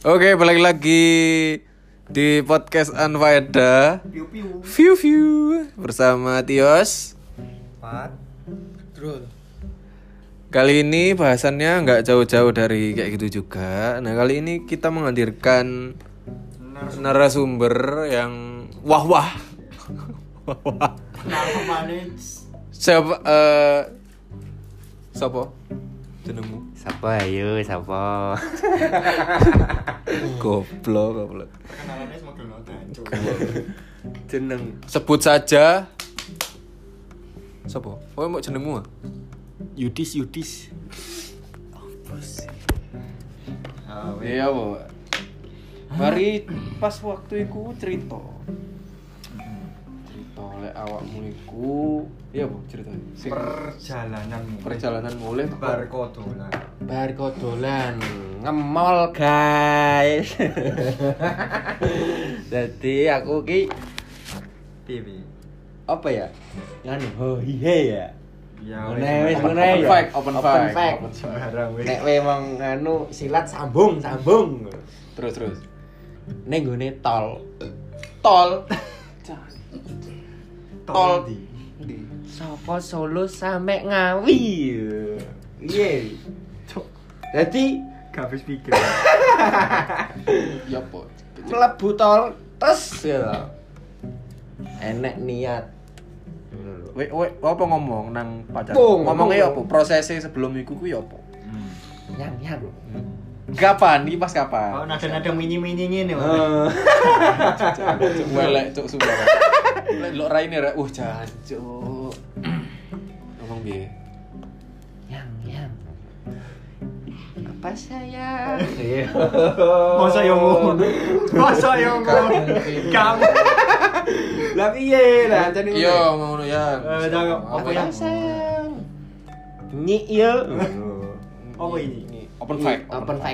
Oke, balik lagi di podcast Anfaedah. View bersama Tios. Drul. Kali ini bahasannya nggak jauh-jauh dari kayak gitu juga. Nah, kali ini kita menghadirkan narasumber yang wah. Siapa? Jenengmu? Sapa ayo, sapa? Goblok. Kenalannya semakin noten. Jeneng Sebut saja. Siapa? Oh, mau jenengmu? Yudis. Iya, Bu. Mari pas waktu iku cerita lek awakmu iku, iya, Bu, ceritanya. Perjalanan mulai bar kodolan ngemol, guys. Jadi aku ki piye? apa ya? Nganu hohihe ya. Ya Wis Open ngene ya. open fact. sembarang wis. Nek kowe emang nganu silat sambung. Terus. Ning gone tol. Tol Di. saka Solo sampe Ngawi. Piye? Dadi Gak habis pikir. Ya, Po. mlebu tol tes ya. Enek niat. Wek apa ngomong nang pacar? Ngomong. Ngomongnya apa? Prosesnya sebelum iku ku ya apa? Yang. Kapan? Iki pas kapan? Oh, nada-nada mini-mini ngene. Cuk welek cuk sumpah. Lek lo raine rek, jancuk. Ngomong piye? Yang. Apa sayang? Masa yo ngono. Kamu. Lah piye lah jane ngono. Iya, ngono ya. Apa yang sayang? Nyik yo. apa ini? Open fact.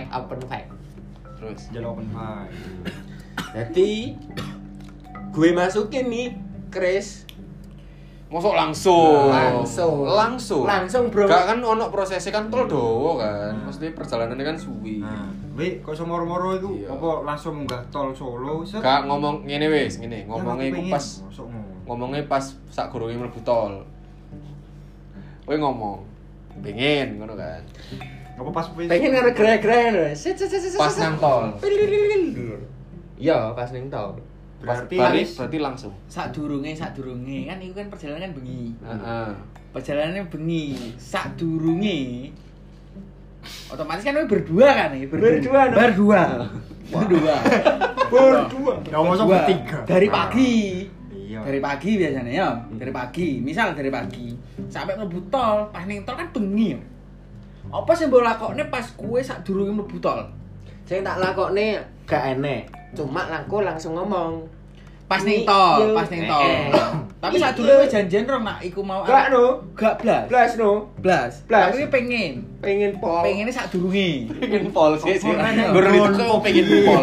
Terus Jalan open mic. Jadi gue masukin nih, Chris. mosok langsung. Langsung, bro. Gak kan ono prosesnya kan tol dowo kan. Maksudnya perjalanannya kan suwi. Nah, wih, kok moro-moro itu Iya. apa langsung munggah tol Solo? Gak ngomong ngene wis, ngene. Ngomongnya iku pas ngomong. ngomongnya pas sak gurunge mlebu tol. Kowe ngomong pengen ngono kan. Apa pas Pengen karo gere-gere. Pas nang tol. Iya, pas ning tol. Berarti langsung. Sadurunge kan iku kan perjalanan kan bengi. Heeh. Perjalanannya bengi. Sadurunge otomatis kan kowe berdua kan iki, Berdua. Berdua. Ya masa bertiga. Dari pagi. Iya. Dari pagi biasanya ya. Dari pagi. Misal dari pagi sampai mlebu tol, pas ning tol kan bengi. Ya. Apa sing mbok lakokne pas kowe sadurunge mlebu tol? Sing tak lakokne gak enek. Cuma aku langsung ngomong. Pas ning tol. Tapi sadurunge janjian rong nak iku mau. Gak no. Gak blas. Blas no. Blas. Blas. Tapi pengen. Pengen pol. Pengennya sadurunge. Pengen pol sih. Apa? Guru itu kok pengen pol.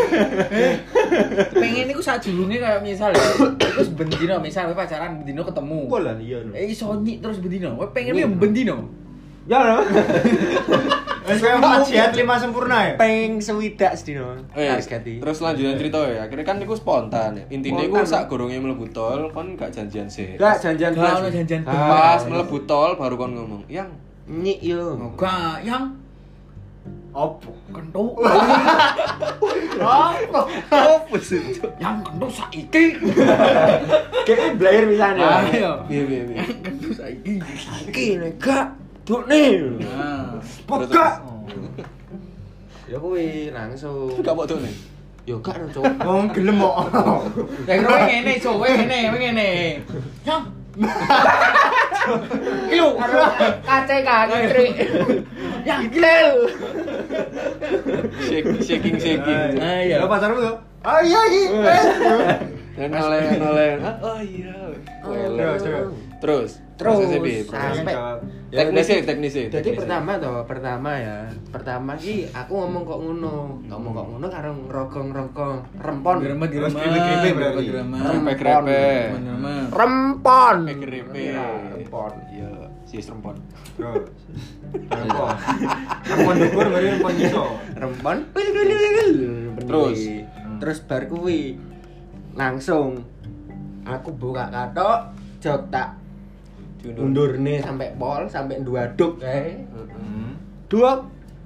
Pengen iku sadurunge kayak misal ya. Iku bendino misal kowe pacaran bendino ketemu. Bola iya no. Iso nyik terus bendino. Kowe pengen yo bendino. Ya no. Wis koyo majiat 5 sempurna ya. Peng swidak sedino. Terus lanjutan cerita ya. Akhirnya kan iku spontan. Intinya iku Spontan. sak gurunge mlebu tol kon gak janjian sih. Gak janjian Gak ono janjian Pas mlebu tol baru kon ngomong, "Yang nyik yo. Gak yang Opo? kentuk. Opo sih? Yang kentuk saiki. Kayak blayer misalnya. Ayo. piye. Kentuk saiki. Iki nek gak dokne. Nah. Pokok. Ya kuwi langsung. Gak mau tuh nih. Yo gak no, Cuk. Wong gelem kok. Lah kowe ngene, Cuk, kowe ngene. Yang Ilu Kace kaki trik. yang gilel. Shaking. Ayo. Ya pacarmu tuh. Iya. Dan noleh. Oh iya. Coba. Terus Terus, prosesnya piye? sampai Ya, Jadi pertama ki aku ngomong kok ngono karo ngrogong-ngrogong rempon. Terus grepe-grepe berarti. Grepe-grepe. Rempon. Grepe. Rempon. Iya, sis rempon. Terus. Rempon. Rempon dhuwur bari rempon iso. Rempon. Terus? Terus bar kuwi langsung aku buka katok jok tak undur nih sampai pol sampai duaduk duk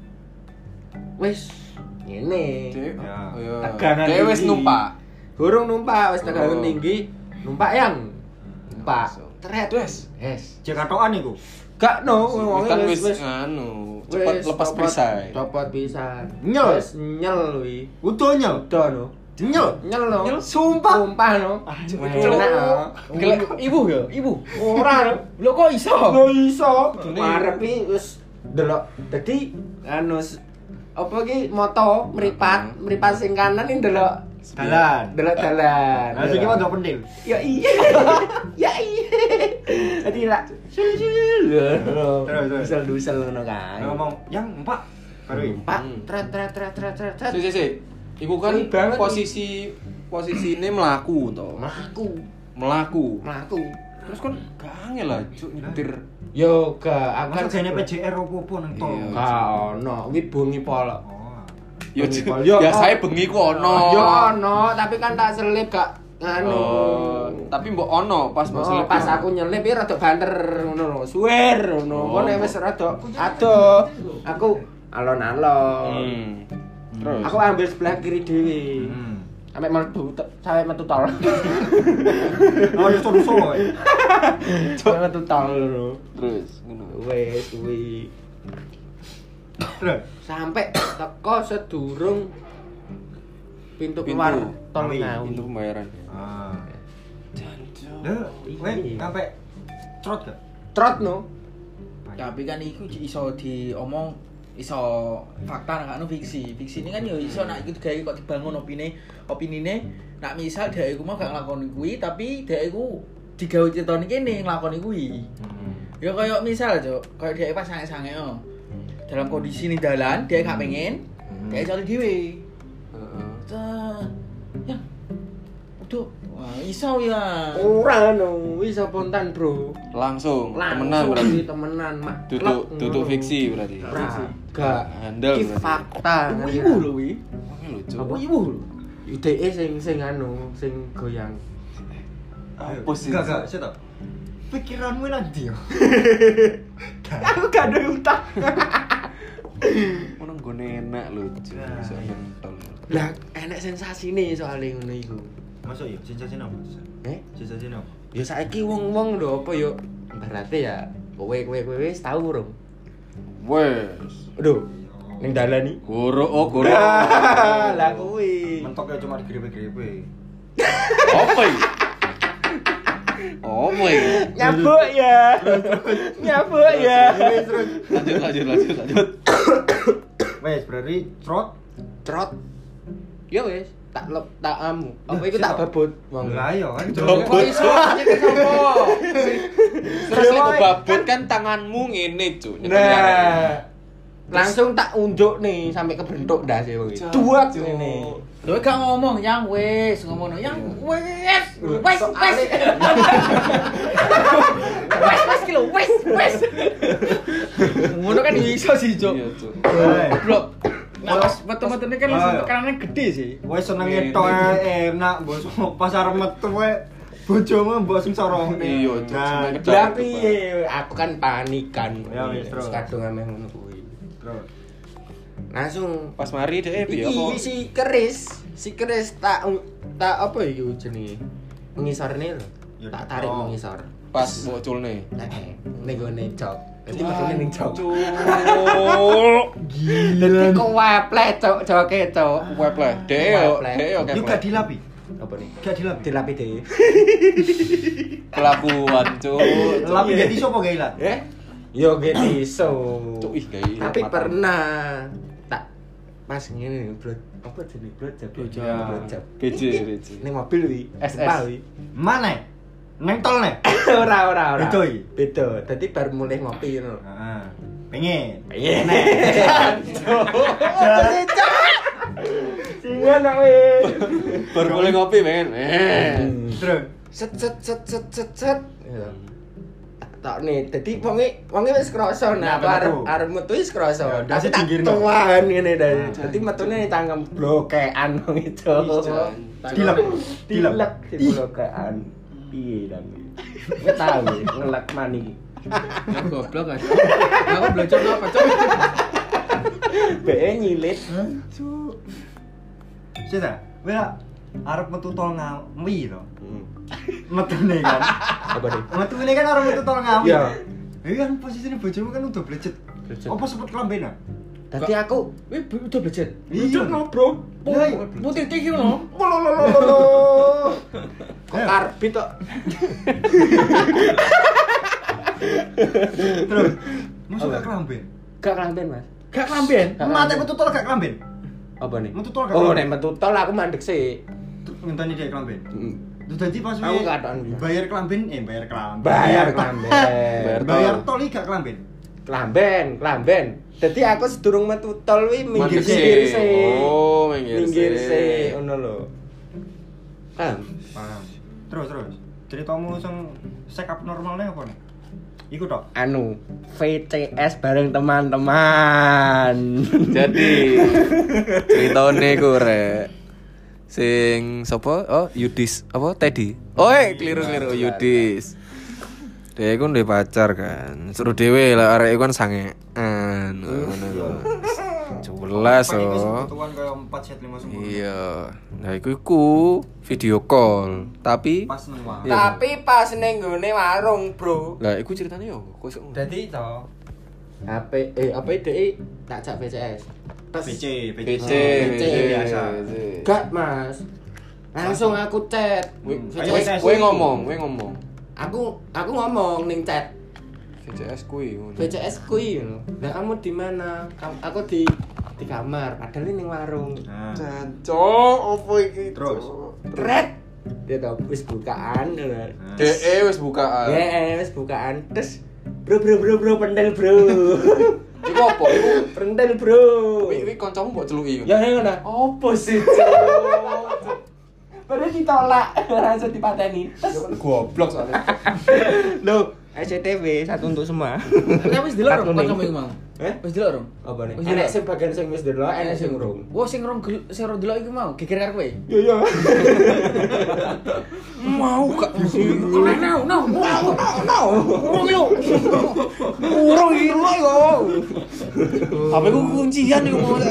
wis ngene Ya. tegangan Dia wis tinggi. numpak. Gurung numpak wis tegangan Oh. tinggi numpak yang numpak tret Wes. Cek katokan iku. gak no wong Kan wis wis anu, cepet wis lepas perisai. copot pisan Nyel. wis nyel wi Utuh nyel. udah no Nyel. no Sumpah. sumpah no enak no Gila, ibu ya, ibu. ora no Lo kok iso? Lo iso. Marepi wis delok. Dadi anu apa ki moto mripat sing kanan iki delok Dalan. delok dalan. Lah sing iki ndok pentil. Ya iya. Ya iya. Dadi lak Terus. dusel ngono kan. Ngomong, "Yang, Pak." Baru iki. Pak, tret. Si. Iku kan Ini banget posisine mlaku to. Mlaku. Mlaku. Terus kan gak angel lah cuk nyetir. Yo gak Masa jane PJR opo-opo nang tol. Iya. Gak ono, kuwi bengi pol. Oh. Yo Yo, biasae bengi ku ono. Yo ono, tapi kan tak selip gak nganu. Oh, tapi mbok ono pas mbok selip. Pas aku nyelip iki rada banter ngono lho. Suwer ngono. Oh. Kok nek wis rada adoh. Aku alon-alon. Terus Aku ambil sebelah kiri dhewe. Sampai metu tol. Oh, yo terus kowe. Sampai metu tol lho. terus ngono. Wes kuwi. Terus. Sampai teko sedurung pintu keluar tol Ngawi, Ngawi. Pintu pembayaran. Ah. Lho, kowe sampe trot gak? Trot no. Tapi kan iku iso diomong iso fakta nak anu fiksi. Fiksi ini kan yo iso nak iku gawe kok dibangun opinine nak misal dhek iku mau gak nglakoni kuwi tapi dhek iku digawe critane kene nglakoni kuwi. Ya kaya misal Cuk, kaya dhek pas sange-sange dalam kondisi ning dalan dhek gak pengen, dhek iso dhewe. Heeh. Ya. Aduh, wah iso ya. Ora no, wis spontan, Bro. Langsung temenan Langsung berarti. temenan mak. Tutuk fiksi berarti. Ora. Gak. Handal Iki berarti. fakta. Ibu lho kuwi. Oke lho cuk. Apa ibu lho? IDE sing anu, sing goyang. Apa sih? Gak, saya tau. Pikiranmu nanti yo. Aku gak ada utang. Ono nggone enak lho cuk. Iso nyentol. Lah, enek sensasine soalnya ngono iku. Masuk yo, sensasi apa? Sensasi apa? Ya saiki wong-wong lho apa yo berarti ya kowe wis tau urung? Wes. Aduh, ning dalan iki. Goro. Lah kuwi. Mentoknya cuma digrepe-grepe. Apa iki? Oh my. Nyabuk ya. Nyabuk ya. Lanjut. Wes, berarti trot. Trot. Ya wis, tak amu. Apa iku tak babut wong. Lah yo kan. Kok iso nyekek sapa? Terus lek babut kan tanganmu ngene cuk. Nah. Langsung tak unjuk nih sampai kebentuk ndas ya wong iki. Duat ngene. Lho gak ngomong yang wis, ngomongno yang wis. Wis. Wis ki lho, wis. Ngono kan iso sih, Cuk. Iya cuk. Goblok. Nah, pas metu-metune kan langsung tekanane gede sih. Wes senenge tok enak, mbok pasar metu wae. Bojomu mbok sing sorong. Iya, Cuk. Nah, Seneng Lah piye? Aku kan panikan. Ya, wis, terus. Kadung ameh ngono kuwi. terus. Langsung Pas mari dhek piye apa? iki si keris tak apa iki jenenge? Mengisorne lho. Ya, Tak tarik oh. mengisor. Pas boculne. Ning gone jok. Dadi metune ning jok. Cuk. Dadi kewepleh cok joke cok. Web lah. Dhek yo Yo gak keplek. dilapi. Apa nih? Gak dilapi. Dilapi dhewe. Kelakuan cuk. Lapi dadi sopo gak ilat? Yo get iso. Cuk ih gawe. Tapi pernah tak pas ngene blot apa jenenge blot jab. BJ. Ning mobil wi, SS. Sumpah, wi. Mana? Neng tol nek. Ora. Beda iki? Beda. Dadi bar mulai ngopi ngono. Heeh. Pengen. Pengen. Singa nak weh. Baru mulai ngopi pengen. Terus Set. Tak nih, dadi wonge wis krasa nah arep metu wis krasa. Ya, Tapi tak pinggirno. tuan ngene dadi metune ning tangkem blokean wong itu. Dilek. Dilek di blokean. Piye dan iki? Wis tau ngelek mani. Ya goblok aja. Aku belajar apa, Cok? Be nyilit. Sita, wela arep metu tol Ngawi to. Metune kan. Apa nih? Metune kan arep metu tol Ngawi. Iya. Iki kan posisine bojomu kan udah blecet. Apa sempet kelambenan? Dadi aku Udah belajar. Iya. bro. Lah, iya. Putih iki lho. Kok karbit kok. Terus masuk gak kelamben. Gak kelamben, Mas. Gak lamben. Mate metu tol gak kelamben. Apa nih? Metu tol gak Oh, kelamben. nek metu tol aku mandek sih. Ngenteni dia kelamben. Terus dadi pas Aku kadoan. bayar kelamben, bayar kelamben. Bayar kelamben. Bayar tol iki gak kelamben. Kelamben. Dadi aku sedurung metu tol wi minggir Mandek sih. sih. Oh, minggir sih. Ngono lho. Paham? Paham. Terus. Ceritamu sing check up normalnya apa nih? Iku tok. Anu, VCS bareng teman-teman. Jadi ceritane ku rek. Sing sapa? Oh, Yudis. Apa? Teddy. Oh, keliru Yudis. Dia iku ndek pacar kan. Suruh dhewe lah arek iku kan sangean. Ngono lho. Jelas oh. Kebutuhan kayak 4 set 5 semua. Iya. Nah, iku video call. Tapi Pas nang wae. Iya. Tapi pas ning nggone warung, Bro. lah iku ceritane yo kok iso. Dadi to. HP DE tak jak VCS. PC. PC biasa. Gak, Mas. Langsung aku chat. VCS. Kowe ngomong. Aku ngomong ning chat. VCS kuwi ngono. VCS kuwi ngono. Lah kamu di mana? Aku di kamar, padahal ning warung. Nah, Jancok, opo iki? Terus? Red. Dia tau wis bukaan ngono. DE wis bukaan. Ya, wis bukaan. Terus bro pendel, bro. Iku opo? Iku Pendel, bro. Wi kancamu mbok celuki. Ya ngono. Opo sih, Cok? Padahal ditolak, langsung dipateni. Goblok soalnya. Loh, SCTV satu untuk semua. Nek wis delok rong kancamu iku mau. Wis delok rong. Apa nih? Wis Enek delok. sing bagian sing wis delok, enek sing urung. Wah, sing rong delok iku mau geger karo kowe. Iya. Mau gak? No. Urung yo. Urung iki lho yo. HP ku kuncian iku mau.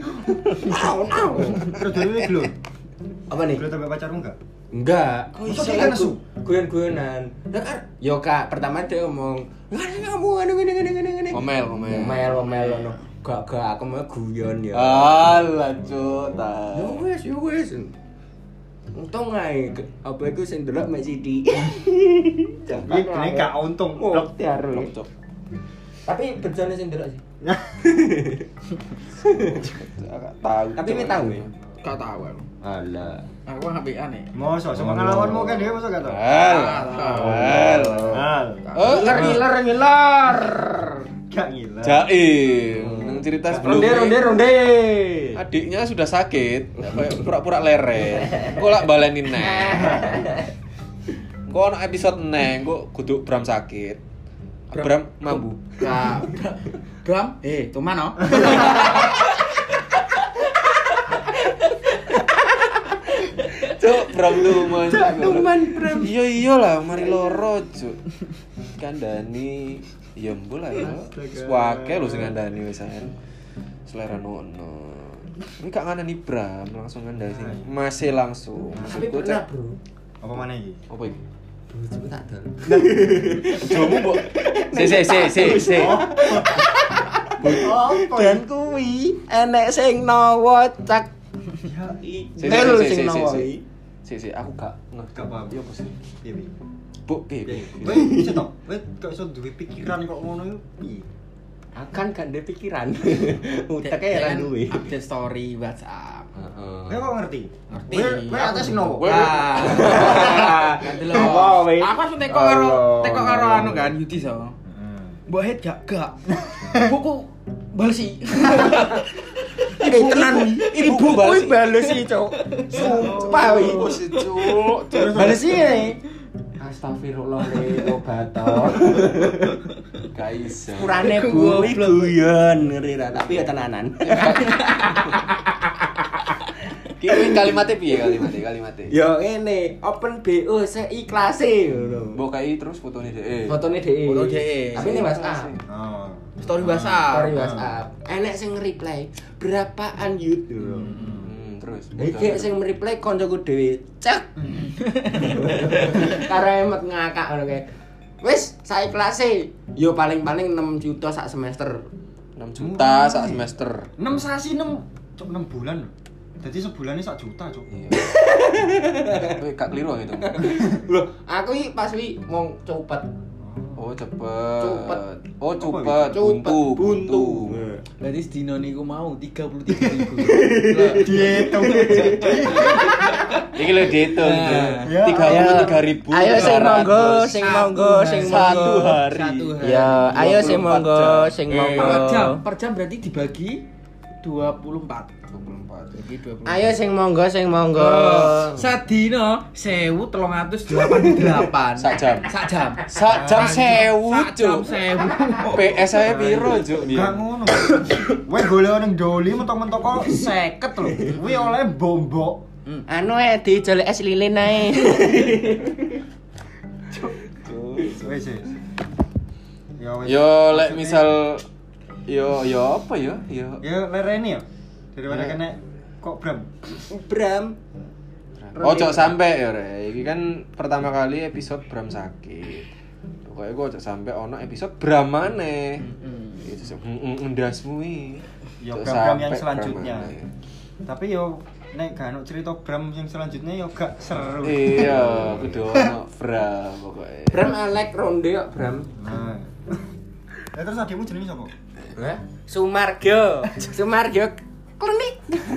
terus dhewe belum. Apa nih? Belum sampai pacarmu enggak? Enggak. Masa dia nesu? Guyon-guyonan. Lah kan yo Kak, pertama dia ngomong, "Kamu ngene." Ngomel. Ngomel ngono. Gak aku mau guyon ya. Alah, Cuk. Yo wis. Untung ae apa iku sing delok mek Siti. Iki kene gak untung. Blok tiar. Cuk. Tapi bejane sing delok sih. Gak tahu. Tapi kowe tahu ya? Gak tahu aku. Alah. Aku HP-an nih. Mosok sepengalamanmu kan dia mosok gak tau. Hal. Oh, Ngiler. Gak gila. Jaim. Nang cerita sebelumnya. Ronde. Adiknya sudah sakit, kayak pura-pura leren. Kok lak baleni neh. Kok ono episode neh, kok kudu Bram sakit. Bram mambu. Kak. Bram, tuman no. Cuk, Bram tuman. Bram. Iya lah, mari loro, Cuk. Kandani, ya mbo lah ya. Wake lho sing kandani wisan. Selera nono. Ini gak ngandani Bram, langsung ngandani sing masih langsung. Tapi Maksudku, pernah, Cak. Bro. Apa mana iki? Apa iki? Cepet tak dol. Jomu, Mbok. Si. Dan kuwi enek sing nawa cak. Tel sing nawa. Si, aku gak Gak paham. Iya apa sih? Piye piye? Bu, piye? Weh, bisa tok. Weh, kok iso duwe pikiran kok ngono iku piye? Akan gak ada pikiran. Uteke ra duwe. Update story WhatsApp. Heeh. Kowe kok ngerti? Ngerti. Kowe atas sing nopo? Wah. Ganti lho. Apa, weh? Aku langsung teko karo anu kan Yudi so. Mbok head gak. Buku balesi. Tenan ibu kuwi balesi, Cuk. Sumpah wi. Cuk. Balesi ne. Astagfirullah le tobat to. Gak iso. Kurane kuwi guyon ngeri ra, tapi ya tenanan. Ki kalimatnya piye kalimatnya? Ya ngene, open BO seiklase ngono. Mbok kai terus fotone dhek. Fotone dhek. Foto dhek. Tapi ini WhatsApp. Oh. Story WhatsApp. Story WhatsApp. Enek sing nge-reply, "Berapaan yut?" Terus. Iki sing nge-reply koncoku dhewe. Cek. Karo emet ngakak ngono kae. Wis, saiklase. Yo paling-paling 6 juta sak semester. 6 juta sak semester. 6 sasi 6 bulan. Jadi sebulannya 1 juta, Cuk. Iya. Kowe gak keliru gitu. Loh, aku iki pas wi mong cepet. Oh, cepet. Cepet. Oh, cepet. Buntu. Berarti sedino niku mau 33.000. Dihitung. Iki lho dihitung. Ya. 33.000. Ayo sing monggo, sing monggo, sing Satu monggo. hari. Ya, ayo sing 24 monggo, jam. sing Eh, monggo. Per jam berarti dibagi 24. 24. Bagi 24. Ayo sing monggo, sing monggo. Sadino 1388. Sak jam. Sak jam. Sak jam 1000, Sak jam Cuk. 1000. PS saya piro, Cuk? Gak ngono. Kowe golek ning Doli mentok-mentok kok 50 lho. Kuwi oleh bombok. Anu dijelek es lilin ae. Wes. Ya wes. Yo lek misal yo apa ya? Yo Ya lereni ya. Daripada Ya. kena kok Bram. Bram. Ojo sampai ya, Re. Iki kan pertama kali episode Bram sakit. Pokoknya gue ojo sampai ono episode Bram maneh. Itu sih ndasmu iki. Ya Ojo Bram yang sampai selanjutnya. Bram maneh. Tapi yo nek gak ono cerita Bram yang selanjutnya yo gak seru. Iya, kudu ono Bram pokoknya. Bram Alek ronde kok Bram. Nah. Ya terus adikmu jenenge sapa? Hah? Sumargo. Sumargo klinik.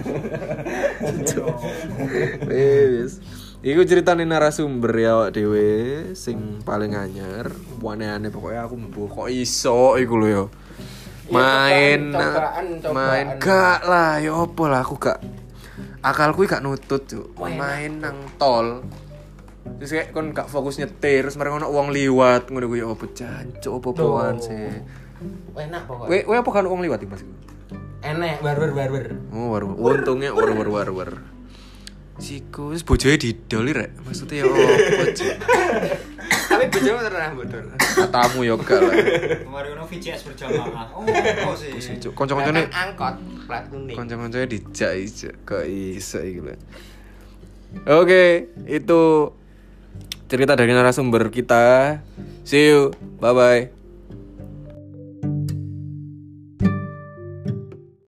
Wis. Iku ceritane narasumber ya awak dhewe sing paling anyar. Aneh-aneh pokoknya aku mbuh kok iso iku lho ya. Main cobaan. gak lah ya opo lah aku gak akalku gak nutut Cuk. Main nang tol. Terus kayak kon gak fokus nyetir terus mereka ono wong liwat ngono ku ya opo jancuk opo-opoan sih. Enak pokoknya. Kowe apa kan wong liwat iki Mas? Enak barber. Oh, untungnya war. Siku wis bojoe didoli rek. Maksudnya ya opo, Cuk? Tapi bojomu terang bodol. Katamu yo gak lah. Kemarin ono VCS berjamaah. Oh sih. Wis Cuk, kanca-kancane Angkot plat kuning. kanca-kancane dijak kok iso iki lho. Oke, itu cerita dari narasumber kita. See you. Bye bye.